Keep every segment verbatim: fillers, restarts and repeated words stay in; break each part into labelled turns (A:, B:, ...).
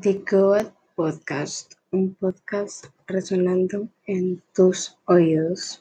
A: The Goat Podcast, un podcast resonando en tus oídos.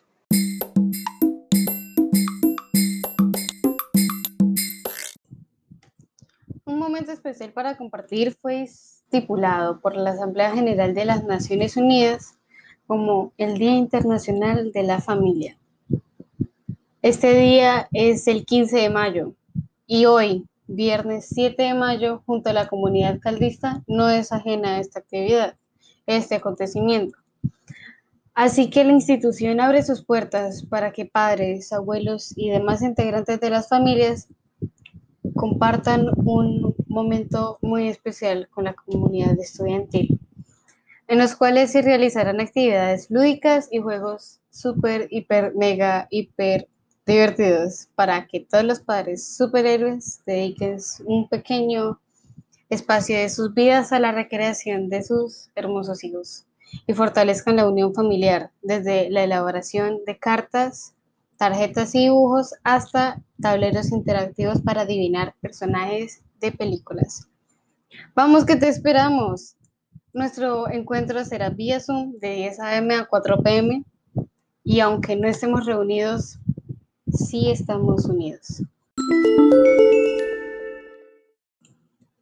B: Un momento especial para compartir fue estipulado por la Asamblea General de las Naciones Unidas como el Día Internacional de la Familia. Este día es el quince de mayo y hoy, viernes siete de mayo, junto a la comunidad caldista, no es ajena a esta actividad, este acontecimiento. Así que la institución abre sus puertas para que padres, abuelos y demás integrantes de las familias compartan un momento muy especial con la comunidad estudiantil, en los cuales se realizarán actividades lúdicas y juegos súper, hiper, mega, hiper divertidos para que todos los padres superhéroes dediquen un pequeño espacio de sus vidas a la recreación de sus hermosos hijos y fortalezcan la unión familiar desde la elaboración de cartas, tarjetas y dibujos hasta tableros interactivos para adivinar personajes de películas. Vamos que te esperamos. Nuestro encuentro será vía Zoom de diez a eme a cuatro pe eme y aunque no estemos reunidos, sí estamos unidos.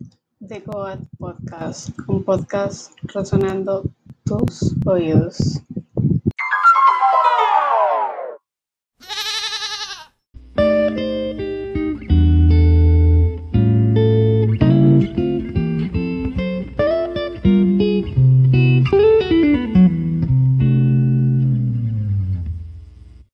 A: The Goat Podcast, un podcast resonando tus oídos.